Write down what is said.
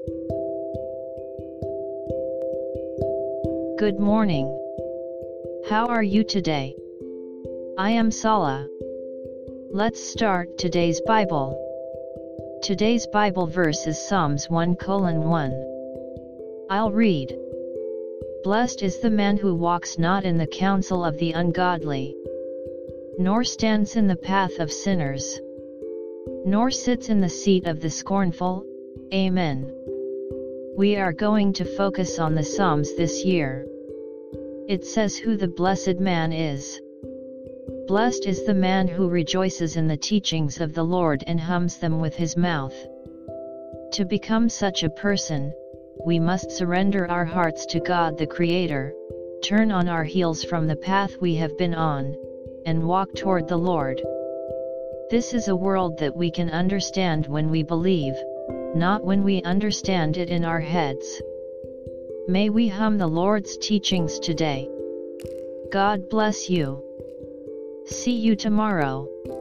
Good morning. How are you today? I am Sala. Let's start today's Bible. Today's Bible verse is Psalms 1:1. I'll read. Blessed is the man who walks not in the counsel of the ungodly, nor stands in the path of sinners, nor sits in the seat of the scornful. Amen. We are going to focus on the Psalms this year. It says who the blessed man is. Blessed is the man who rejoices in the teachings of the Lord and hums them with his mouth. To become such a person, we must surrender our hearts to God the Creator, turn on our heels from the path we have been on, and walk toward the Lord. This is a world that we can understand when we believe, not when we understand it in our heads. May we hum the Lord's teachings today. God bless you. See you tomorrow.